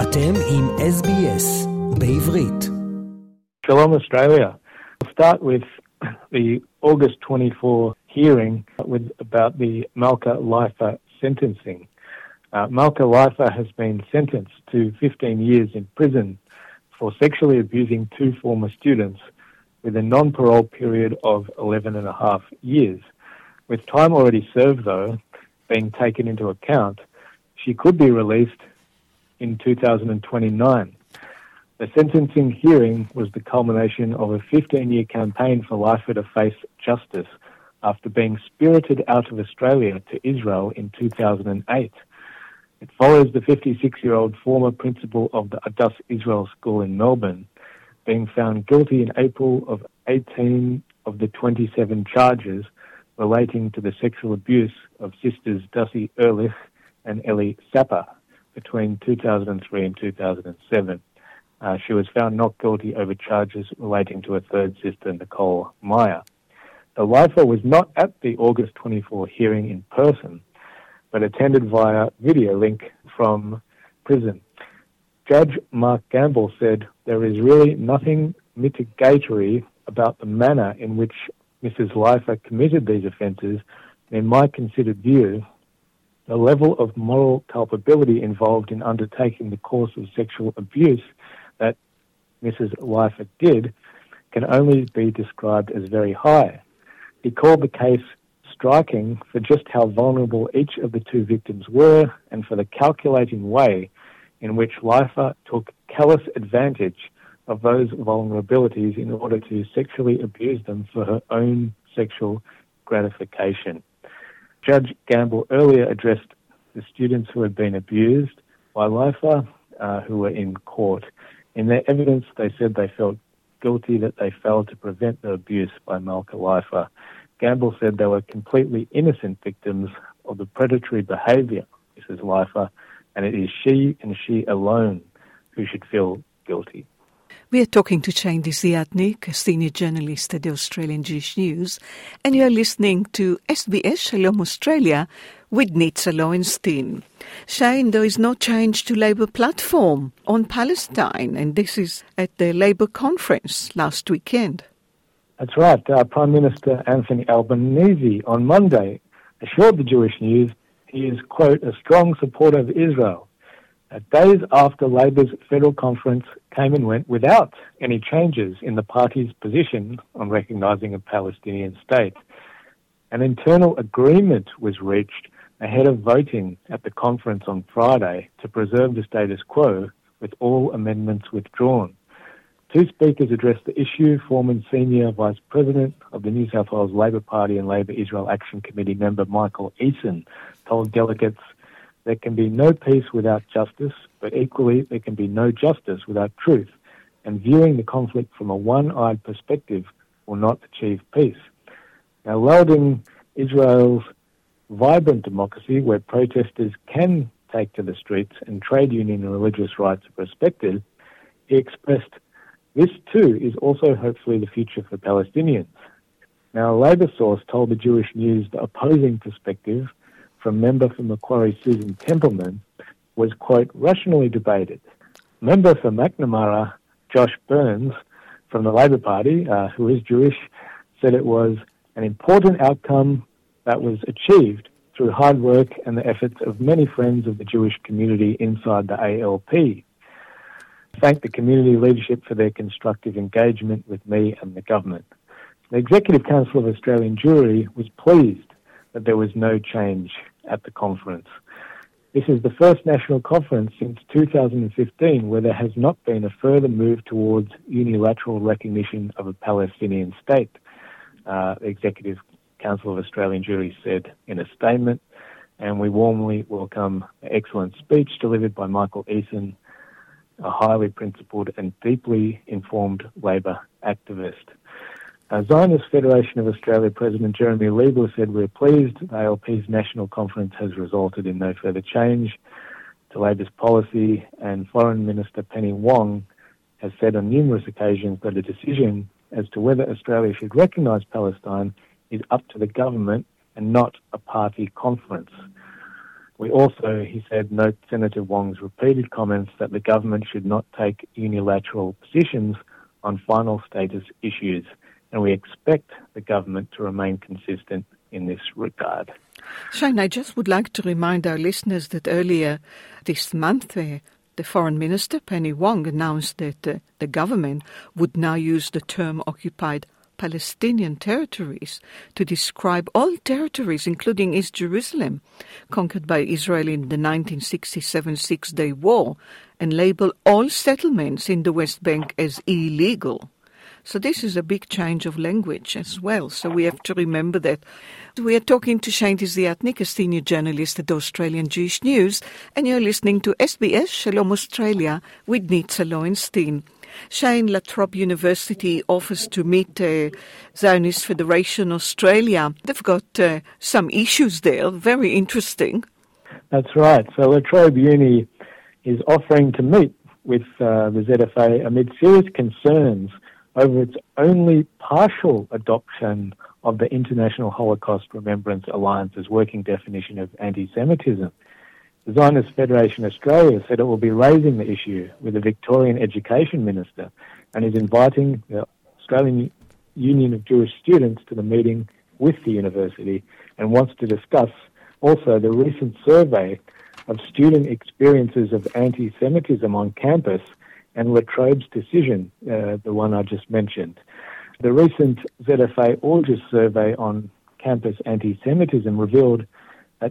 אתם עם SBS בעברית. Shalom Australia. I'll start with the August 24 hearing about the Malka Leifer sentencing. Malka Leifer has been sentenced to 15 years in prison for sexually abusing two former students with a non-parole period of 11 and a half years. With time already served, though, being taken into account, she could be released in 2029. The sentencing hearing was the culmination of a 15-year campaign for Leifer to face justice after being spirited out of Australia to Israel in 2008. It follows the 56-year-old former principal of the Adass Israel School in Melbourne being found guilty in April of 18 of the 27 charges relating to the sexual abuse of sisters Dussie Ehrlich and Ellie Sapper between 2003 and 2007. She was found not guilty over charges relating to a third sister, Nicole Meyer. The Leifer was not at the August 24 hearing in person, but attended via video link from prison. Judge Mark Gamble said there is really nothing mitigatory about the manner in which Mrs. Leifer committed these offences. In my considered view, the level of moral culpability involved in undertaking the course of sexual abuse that Mrs. Leifer did can only be described as very high. He called the case striking for just how vulnerable each of the two victims were and for the calculating way in which Leifer took callous advantage of those vulnerabilities in order to sexually abuse them for her own sexual gratification. Judge Gamble earlier addressed the students who had been abused by Leifer, who were in court. In their evidence, they said they felt guilty that they failed to prevent the abuse by Malka Leifer. Gamble said they were completely innocent victims of the predatory behaviour of Mrs. Leifer, and it is she and she alone who should feel guilty. We are talking to Shane Desiatnik, a senior journalist at the Australian Jewish News, and you are listening to SBS Shalom Australia with Nitza Lowenstein. Shane, there is no change to Labour platform on Palestine, and this is at the Labour conference last weekend. That's right. Prime Minister Anthony Albanese on Monday assured the Jewish News he is, quote, a strong supporter of Israel. Days after Labour's federal conference came and went without any changes in the party's position on recognising a Palestinian state. An internal agreement was reached ahead of voting at the conference on Friday to preserve the status quo, with all amendments withdrawn. Two speakers addressed the issue. Former Senior Vice President of the New South Wales Labor Party and Labor Israel Action Committee member Michael Eason told delegates there can be no peace without justice, but equally there can be no justice without truth, and viewing the conflict from a one-eyed perspective will not achieve peace. Now, lauding Israel's vibrant democracy, where protesters can take to the streets and trade union and religious rights are respected, he expressed this too is also hopefully the future for Palestinians. Now, a Labor source told the Jewish News the opposing perspective from member for Macquarie Susan Templeman was, quote, rationally debated. Member for McNamara, Josh Burns, from the Labor Party, who is Jewish, said it was an important outcome that was achieved through hard work and the efforts of many friends of the Jewish community inside the ALP. Thank the community leadership for their constructive engagement with me and the government. The Executive Council of Australian Jewry was pleased that there was no change at the conference. This is the first national conference since 2015 where there has not been a further move towards unilateral recognition of a Palestinian state, the Executive Council of Australian Jewry said in a statement, and we warmly welcome the excellent speech delivered by Michael Eason, a highly principled and deeply informed Labor activist. Zionist Federation of Australia President Jeremy Liebler said, we're pleased the ALP's national conference has resulted in no further change to Labor's policy, and Foreign Minister Penny Wong has said on numerous occasions that a decision as to whether Australia should recognise Palestine is up to the government and not a party conference. We also, he said, note Senator Wong's repeated comments that the government should not take unilateral positions on final status issues, and we expect the government to remain consistent in this regard. Shane, I just would like to remind our listeners that earlier this month, the Foreign Minister, Penny Wong, announced that the government would now use the term occupied Palestinian territories to describe all territories, including East Jerusalem, conquered by Israel in the 1967 Six-Day War, and label all settlements in the West Bank as illegal. So this is a big change of language as well. So we have to remember that. We are talking to Shane Desiatnik, a senior journalist at Australian Jewish News, and you're listening to SBS Shalom Australia with Nitza Lowenstein. Shane, La Trobe University offers to meet Zionist Federation Australia. They've got some issues there, very interesting. That's right. So La Trobe Uni is offering to meet with the ZFA amid serious concerns over its only partial adoption of the International Holocaust Remembrance Alliance's working definition of anti-Semitism. The Zionist Federation Australia said it will be raising the issue with the Victorian Education Minister and is inviting the Australian Union of Jewish Students to the meeting with the university and wants to discuss also the recent survey of student experiences of anti-Semitism on campus and La Trobe's decision, the one I just mentioned. The recent ZFA August survey on campus anti-Semitism revealed that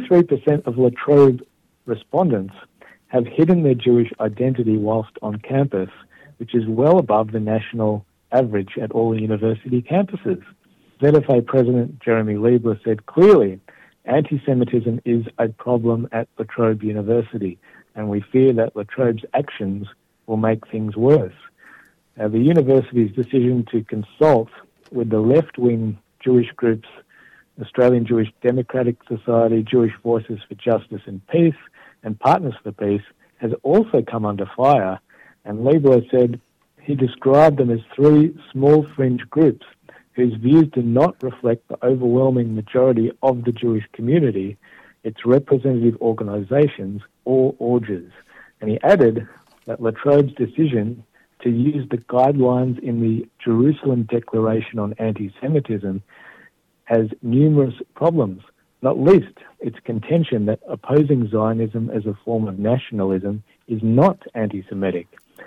73% of La Trobe respondents have hidden their Jewish identity whilst on campus, which is well above the national average at all university campuses. ZFA President Jeremy Liebler said clearly, anti-Semitism is a problem at La Trobe University, and we fear that La Trobe's actions will make things worse. The university's decision to consult with the left-wing Jewish groups, Australian Jewish Democratic Society, Jewish Voices for Justice and Peace, and Partners for Peace, has also come under fire, and Liebler said he described them as three small fringe groups whose views do not reflect the overwhelming majority of the Jewish community, its representative organisations, or orgs. And he added that La Trobe's decision to use the guidelines in the Jerusalem Declaration on Anti-Semitism has numerous problems, not least its contention that opposing Zionism as a form of nationalism is not anti-Semitic.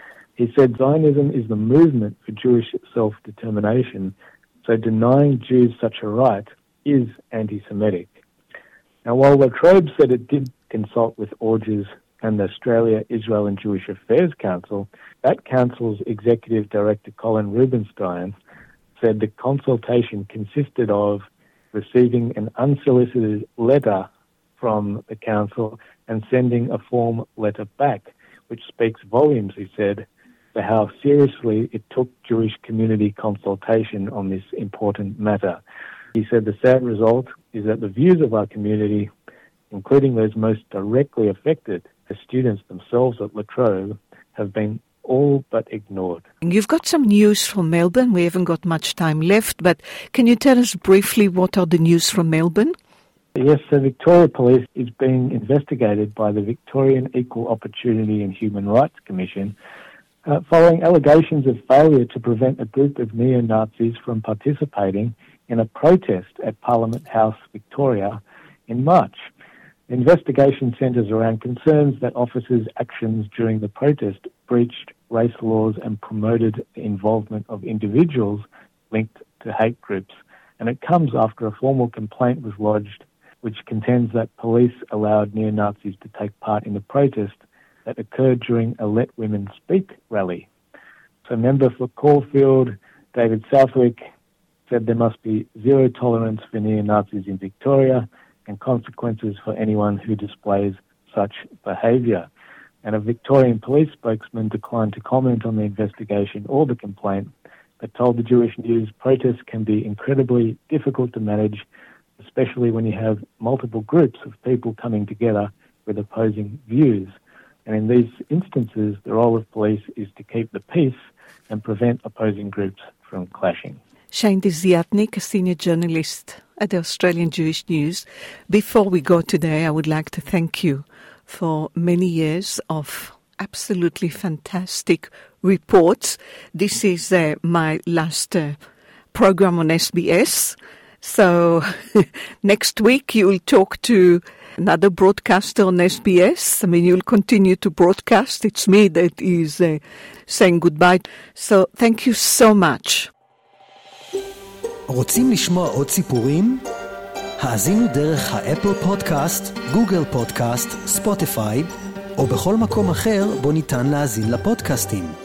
He said Zionism is the movement for Jewish self-determination, so denying Jews such a right is anti-Semitic. Now, while La Trobe said it did consult with orgs and the Australia, Israel and Jewish Affairs Council, that council's executive director Colin Rubenstein said the consultation consisted of receiving an unsolicited letter from the council and sending a form letter back, which speaks volumes, he said, for how seriously it took Jewish community consultation on this important matter. He said the sad result is that the views of our community, including those most directly affected, the students themselves at La Trobe, have been all but ignored. You've got some news from Melbourne. We haven't got much time left, but can you tell us briefly what are the news from Melbourne? Yes, the Victoria Police is being investigated by the Victorian Equal Opportunity and Human Rights Commission following allegations of failure to prevent a group of neo-Nazis from participating in a protest at Parliament House, Victoria, in March. The investigation centres around concerns that officers' actions during the protest breached race laws and promoted the involvement of individuals linked to hate groups. And it comes after a formal complaint was lodged which contends that police allowed neo-Nazis to take part in the protest that occurred during a Let Women Speak rally. So member for Caulfield, David Southwick, said there must be zero tolerance for neo-Nazis in Victoria and consequences for anyone who displays such behaviour. And a Victorian police spokesman declined to comment on the investigation or the complaint, but told the Jewish News protests can be incredibly difficult to manage, especially when you have multiple groups of people coming together with opposing views. And in these instances, the role of police is to keep the peace and prevent opposing groups from clashing. Shane Desiatnik, a senior journalist at the Australian Jewish News. Before we go today, I would like to thank you for many years of absolutely fantastic reports. This is my last program on SBS. So next week you will talk to another broadcaster on SBS. I mean, you'll continue to broadcast. It's me that is saying goodbye. So thank you so much. רוצים לשמוע עוד סיפורים? האזינו דרך האפל פודקאסט, גוגל פודקאסט, ספוטיפיי, או בכל מקום אחר בו ניתן להאזין לפודקאסטים.